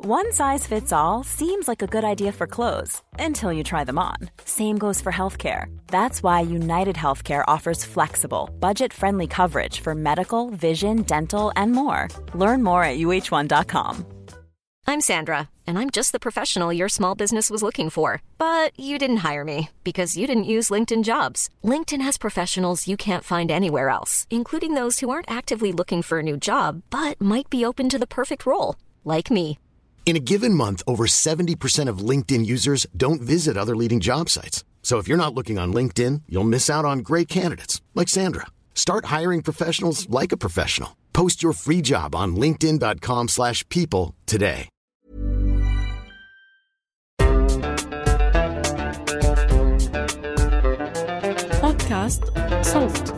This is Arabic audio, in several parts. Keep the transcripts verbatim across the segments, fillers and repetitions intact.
One size fits all seems like a good idea for clothes until you try them on. Same goes for healthcare. That's why United Healthcare offers flexible, budget-friendly coverage for medical, vision, dental, and more. Learn more at U H one dot com. I'm Sandra, and I'm just the professional your small business was looking for. But you didn't hire me because you didn't use LinkedIn Jobs. LinkedIn has professionals you can't find anywhere else, including those who aren't actively looking for a new job, but might be open to the perfect role, like me. In a given month, over seventy percent of LinkedIn users don't visit other leading job sites. So if you're not looking on LinkedIn, you'll miss out on great candidates like Sandra. Start hiring professionals like a professional. Post your free job on linkedin dot com slash people today. بودكاست صوت.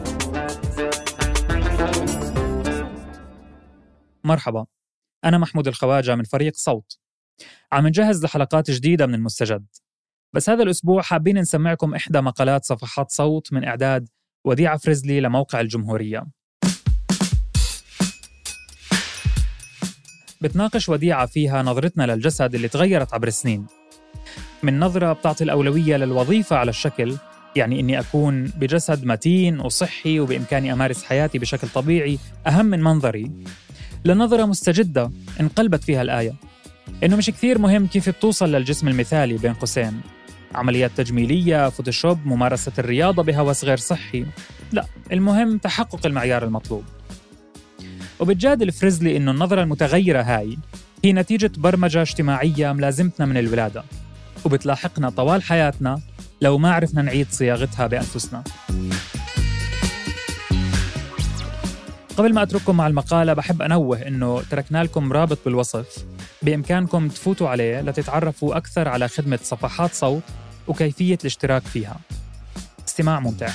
مرحبا، أنا محمود الخواجة من فريق صوت. عم نجهز لحلقات جديدة من المستجد، بس هذا الأسبوع حابين نسمعكم إحدى مقالات صفحات صوت من إعداد وديعة فريزلي لموقع الجمهورية. بتناقش وديعة فيها نظرتنا للجسد اللي تغيرت عبر السنين، من نظرة بتعطي الأولوية للوظيفة على الشكل، يعني إني أكون بجسد متين وصحي وبإمكاني أمارس حياتي بشكل طبيعي أهم من منظري، لنظرة مستجدة انقلبت فيها الآية إنه مش كثير مهم كيف بتوصل للجسم المثالي بين قوسين، عمليات تجميلية، فوتوشوب، ممارسة الرياضة بهوس غير صحي، لا، المهم تحقق المعيار المطلوب. وبتجادل فريزلي إنه النظرة المتغيرة هاي هي نتيجة برمجة اجتماعية ملازمتنا من الولادة وبتلاحقنا طوال حياتنا لو ما عرفنا نعيد صياغتها بأنفسنا. قبل ما أترككم مع المقالة بحب أنوه إنه تركنا لكم رابط بالوصف بإمكانكم تفوتوا عليه لتتعرفوا أكثر على خدمة صفحات صوت وكيفية الاشتراك فيها. استماع ممتع.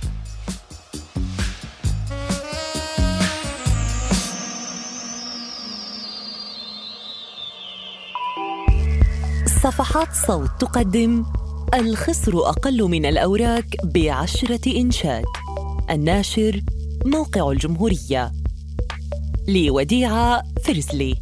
صفحات صوت تقدم الخصر أقل من الأوراق بعشرة إنشاد. الناشر موقع الجمهورية. لوديعة فريزلي.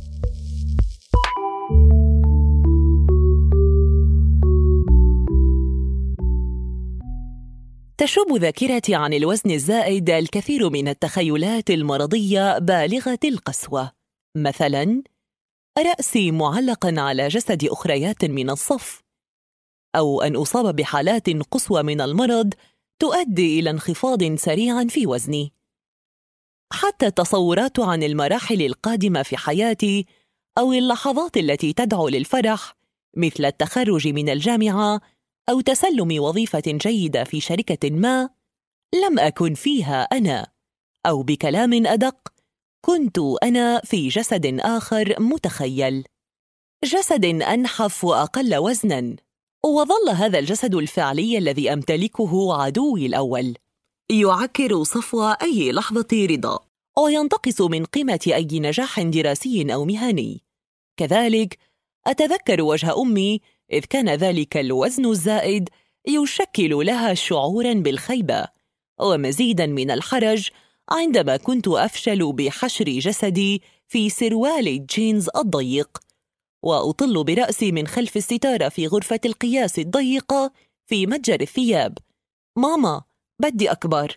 تشوب ذاكرتي عن الوزن الزائد الكثير من التخيلات المرضية بالغة القسوة، مثلاً رأسي معلقاً على جسد أخريات من الصف، أو أن أصاب بحالات قصوى من المرض تؤدي إلى انخفاض سريع في وزني. حتى التصورات عن المراحل القادمة في حياتي أو اللحظات التي تدعو للفرح، مثل التخرج من الجامعة أو تسلم وظيفة جيدة في شركة ما، لم أكن فيها أنا، أو بكلام أدق، كنت أنا في جسد آخر متخيل، جسد أنحف وأقل وزناً. وظل هذا الجسد الفعلي الذي أمتلكه عدوي الأول، يعكر صفو أي لحظة رضا وينتقص من قيمة أي نجاح دراسي أو مهني. كذلك أتذكر وجه أمي إذ كان ذلك الوزن الزائد يشكل لها شعوراً بالخيبة ومزيداً من الحرج عندما كنت أفشل بحشر جسدي في سروال الجينز الضيق وأطل برأسي من خلف الستارة في غرفة القياس الضيقة في متجر الثياب. ماما، بدي أكبر.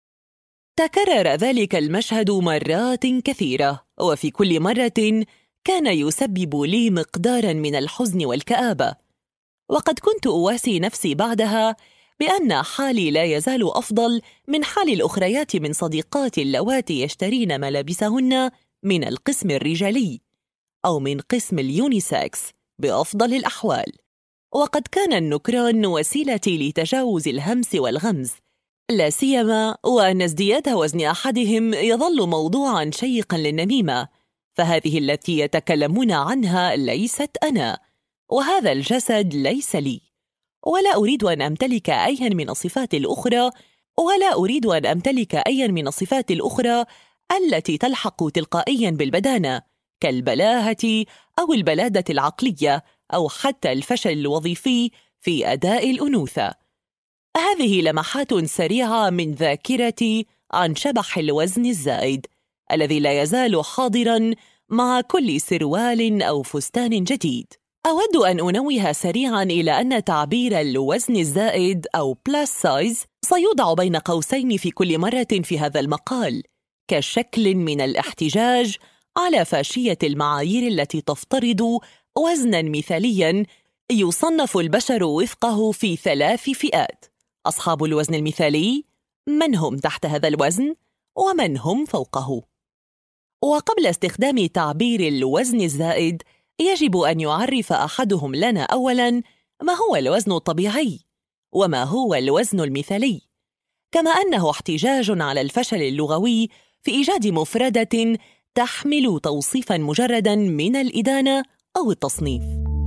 تكرر ذلك المشهد مرات كثيرة، وفي كل مرة كان يسبب لي مقداراً من الحزن والكآبة، وقد كنت أواسي نفسي بعدها بأن حالي لا يزال أفضل من حال الأخريات من صديقاتي اللواتي يشترين ملابسهن من القسم الرجالي أو من قسم اليونيسكس بأفضل الأحوال. وقد كان النكران وسيلتي لتجاوز الهمس والغمز، لا سيما وأن ازدياد وزن أحدهم يظل موضوعاً شيقاً للنميمة، فهذه التي يتكلمون عنها ليست أنا، وهذا الجسد ليس لي، ولا أريد أن أمتلك أياً من الصفات الأخرى ولا أريد أن أمتلك أياً من الصفات الأخرى التي تلحق تلقائياً بالبدانة، كالبلاهة أو البلادة العقلية أو حتى الفشل الوظيفي في أداء الأنوثة. هذه لمحات سريعة من ذاكرتي عن شبح الوزن الزائد الذي لا يزال حاضراً مع كل سروال أو فستان جديد. أود أن أنوه سريعاً إلى أن تعبير الوزن الزائد أو plus size سيوضع بين قوسين في كل مرة في هذا المقال كشكل من الاحتجاج على فاشية المعايير التي تفترض وزناً مثالياً يصنف البشر وفقه في ثلاث فئات: أصحاب الوزن المثالي، من هم تحت هذا الوزن، ومن هم فوقه. وقبل استخدام تعبير الوزن الزائد يجب أن يعرف أحدهم لنا أولاً ما هو الوزن الطبيعي وما هو الوزن المثالي، كما أنه احتجاج على الفشل اللغوي في إيجاد مفردة تحمل توصيفاً مجرداً من الإدانة أو التصنيف.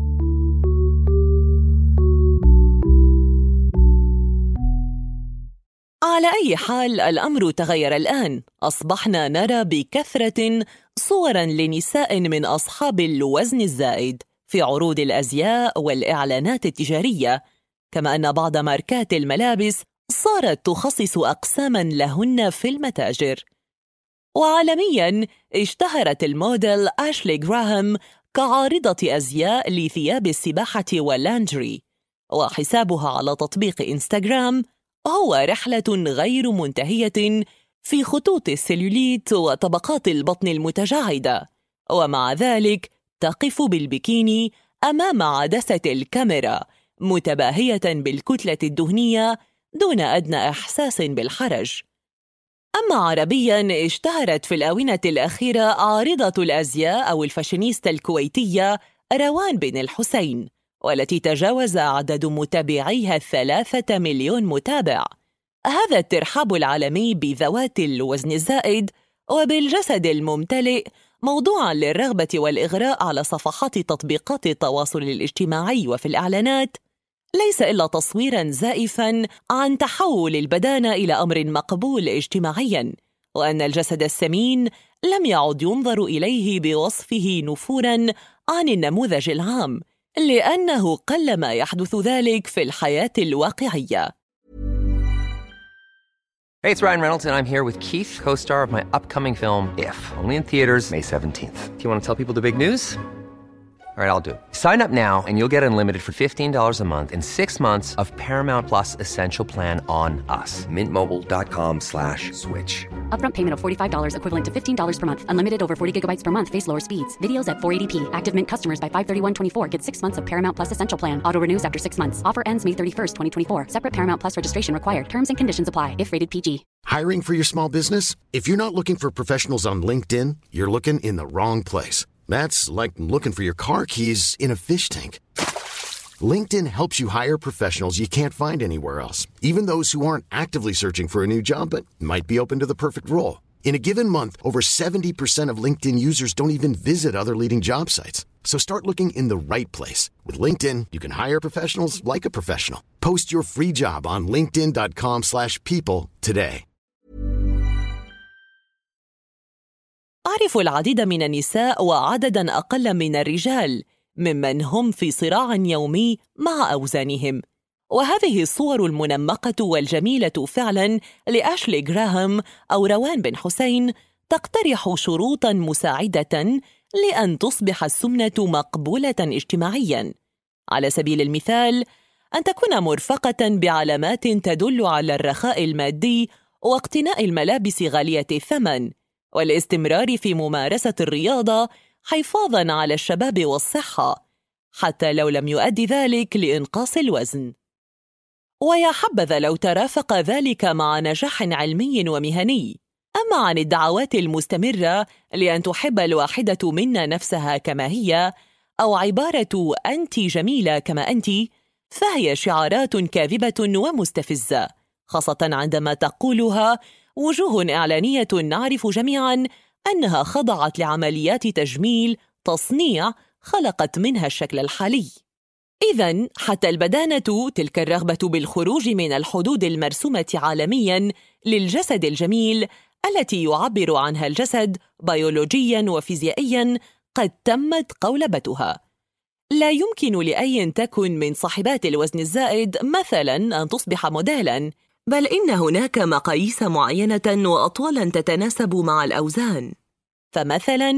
على أي حال الأمر تغير الآن، أصبحنا نرى بكثرة صوراً لنساء من أصحاب الوزن الزائد في عروض الأزياء والإعلانات التجارية، كما أن بعض ماركات الملابس صارت تخصص أقساماً لهن في المتاجر. وعالمياً اشتهرت الموديل آشلي غراهام كعارضة أزياء لثياب السباحة واللانجري، وحسابها على تطبيق إنستغرام هو رحلة غير منتهية في خطوط السليوليت وطبقات البطن المتجاعدة، ومع ذلك تقف بالبكيني أمام عدسة الكاميرا متباهية بالكتلة الدهنية دون أدنى إحساس بالحرج. أما عربياً اشتهرت في الآونة الأخيرة عارضة الأزياء أو الفاشينيستا الكويتية روان بن الحسين، والتي تجاوز عدد متابعيها الثلاثة مليون متابع. هذا الترحاب العالمي بذوات الوزن الزائد وبالجسد الممتلئ موضوعاً للرغبة والإغراء على صفحات تطبيقات التواصل الاجتماعي وفي الإعلانات ليس إلا تصويراً زائفاً عن تحول البدانة إلى أمر مقبول اجتماعياً، وأن الجسد السمين لم يعد ينظر إليه بوصفه نفوراً عن النموذج العام، لأنه قلما يحدث ذلك في الحياة الواقعية. Hey, it's Ryan Reynolds, and I'm here with Keith, co-star of my upcoming film, If, only in theaters May seventeenth. Do you want to tell people the big news? All right, I'll do it. Sign up now and you'll get unlimited for fifteen dollars a month and six months of Paramount Plus Essential Plan on us. Mint Mobile dot com slash switch. Upfront payment of forty-five dollars equivalent to fifteen dollars per month. Unlimited over forty gigabytes per month. Face lower speeds. Videos at four eighty p. Active Mint customers by five thirty-one twenty-four get six months of Paramount Plus Essential Plan. Auto renews after six months. Offer ends May thirty-first, twenty twenty-four. Separate Paramount Plus registration required. Terms and conditions apply if rated P G. Hiring for your small business? If you're not looking for professionals on LinkedIn, you're looking in the wrong place. That's like looking for your car keys in a fish tank. LinkedIn helps you hire professionals you can't find anywhere else, even those who aren't actively searching for a new job but might be open to the perfect role. In a given month, over seventy percent of LinkedIn users don't even visit other leading job sites. So start looking in the right place. With LinkedIn, you can hire professionals like a professional. Post your free job on linkedin dot com slash people today. أعرف العديد من النساء وعدداً أقل من الرجال ممن هم في صراع يومي مع أوزانهم، وهذه الصور المنمقة والجميلة فعلاً لآشلي غراهام أو روان بن حسين تقترح شروطاً مساعدة لأن تصبح السمنة مقبولة اجتماعياً. على سبيل المثال، أن تكون مرفقة بعلامات تدل على الرخاء المادي واقتناء الملابس غالية الثمن، والاستمرار في ممارسة الرياضة حفاظاً على الشباب والصحة، حتى لو لم يؤدي ذلك لإنقاص الوزن. ويا حبذا لو ترافق ذلك مع نجاح علمي ومهني. أما عن الدعوات المستمرة لأن تحب الواحدة منا نفسها كما هي، أو عبارة أنت جميلة كما أنت، فهي شعارات كاذبة ومستفزة، خاصة عندما تقولها وجوه إعلانية نعرف جميعاً أنها خضعت لعمليات تجميل تصنيع خلقت منها الشكل الحالي. إذن حتى البدانة، تلك الرغبة بالخروج من الحدود المرسومة عالمياً للجسد الجميل التي يعبر عنها الجسد بيولوجياً وفيزيائياً، قد تمت قولبتها. لا يمكن لأي تكن من صاحبات الوزن الزائد مثلاً أن تصبح موديلاً، بل إن هناك مقاييس معينة وأطوالاً تتناسب مع الأوزان. فمثلاً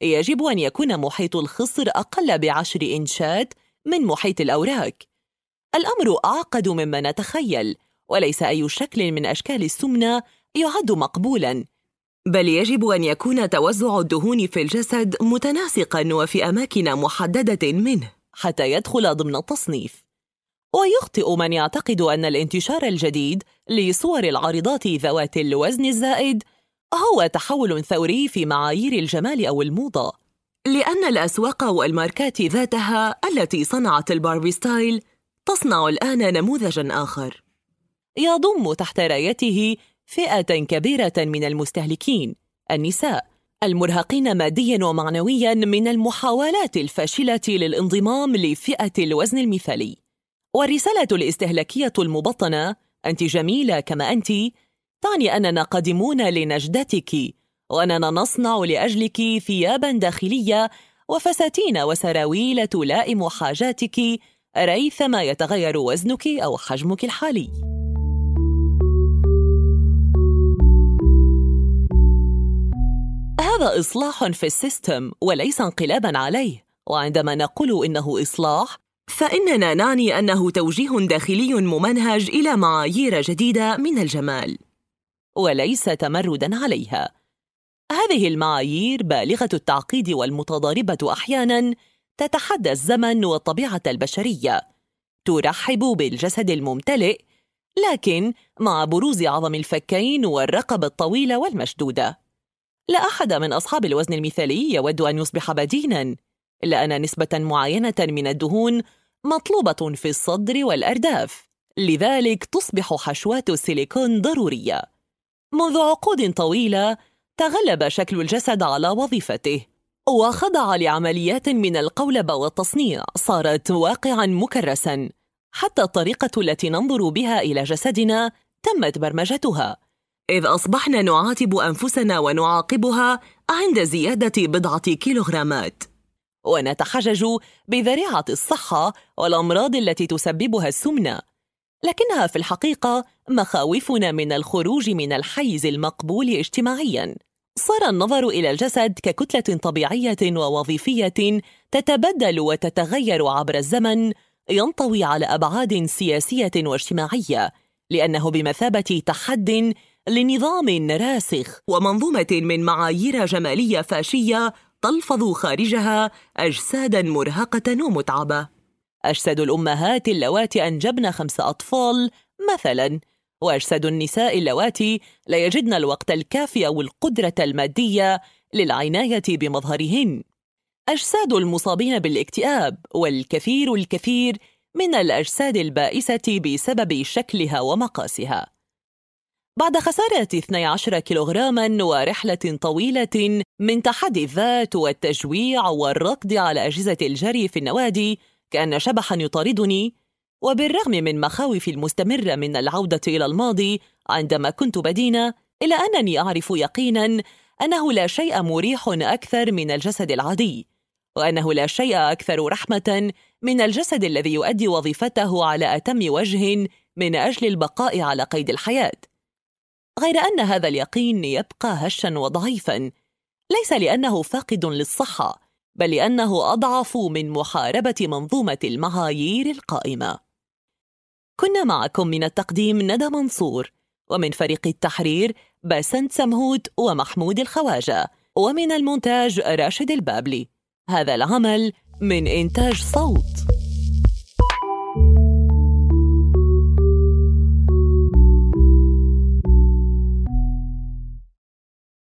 يجب أن يكون محيط الخصر أقل بعشر إنشات من محيط الأوراق. الأمر أعقد مما نتخيل، وليس أي شكل من أشكال السمنة يعد مقبولاً، بل يجب أن يكون توزع الدهون في الجسد متناسقاً وفي أماكن محددة منه حتى يدخل ضمن التصنيف. ويخطئ من يعتقد أن الانتشار الجديد لصور العارضات ذوات الوزن الزائد هو تحول ثوري في معايير الجمال أو الموضة، لأن الأسواق والماركات ذاتها التي صنعت الباربي ستايل تصنع الآن نموذجاً آخر يضم تحت رايته فئة كبيرة من المستهلكين، النساء المرهقين مادياً ومعنوياً من المحاولات الفاشلة للانضمام لفئة الوزن المثالي. والرسالة الاستهلاكية المبطنة "أنت جميلة كما أنت" تعني أننا قادمون لنجدتك، وأننا نصنع لأجلك ثياباً داخلية وفساتين وسراويل تلائم حاجاتك ريثما يتغير وزنك أو حجمك الحالي. هذا إصلاح في السيستم وليس انقلاباً عليه، وعندما نقول إنه إصلاح فإننا نعني أنه توجيه داخلي ممنهج إلى معايير جديدة من الجمال وليس تمرداً عليها. هذه المعايير بالغة التعقيد والمتضاربة أحياناً تتحدى الزمن والطبيعة البشرية، ترحب بالجسد الممتلئ لكن مع بروز عظم الفكين والرقبة الطويلة والمشدودة. لا أحد من أصحاب الوزن المثالي يود أن يصبح بديناً، إلا أن نسبة معينة من الدهون مطلوبة في الصدر والأرداف، لذلك تصبح حشوات السيليكون ضرورية. منذ عقود طويلة تغلب شكل الجسد على وظيفته وخضع لعمليات من القولبة والتصنيع صارت واقعاً مكرساً، حتى الطريقة التي ننظر بها إلى جسدنا تمت برمجتها، إذ أصبحنا نعاتب أنفسنا ونعاقبها عند زيادة بضعة كيلوغرامات، ونتحجج بذريعة الصحة والأمراض التي تسببها السمنة، لكنها في الحقيقة مخاوفنا من الخروج من الحيز المقبول اجتماعياً. صار النظر إلى الجسد ككتلة طبيعية ووظيفية تتبدل وتتغير عبر الزمن، ينطوي على أبعاد سياسية واجتماعية، لأنه بمثابة تحد لنظام راسخ ومنظومة من معايير جمالية فاشية تلفظ خارجها أجساداً مرهقة ومتعبة. أجساد الأمهات اللواتي أنجبن خمس أطفال مثلاً، وأجساد النساء اللواتي لا يجدن الوقت الكافي أو القدرة المادية للعناية بمظهرهن. أجساد المصابين بالاكتئاب، والكثير الكثير من الأجساد البائسة بسبب شكلها ومقاسها. بعد خسارة اثني عشر كيلوغراما ورحلة طويلة من تحدي الذات والتجويع والركض على أجهزة الجري في النوادي كأن شبحاً يطاردني، وبالرغم من مخاوفي المستمرة من العودة إلى الماضي عندما كنت بدينة، إلا أنني أعرف يقيناً أنه لا شيء مريح أكثر من الجسد العادي، وأنه لا شيء أكثر رحمة من الجسد الذي يؤدي وظيفته على أتم وجه من أجل البقاء على قيد الحياة. غير أن هذا اليقين يبقى هشاً وضعيفاً، ليس لأنه فاقد للصحة، بل لأنه أضعف من محاربة منظومة المعايير القائمة. كنا معكم من التقديم ندى منصور، ومن فريق التحرير باسنت سمهوت ومحمود الخواجة، ومن المونتاج راشد البابلي. هذا العمل من إنتاج صوت.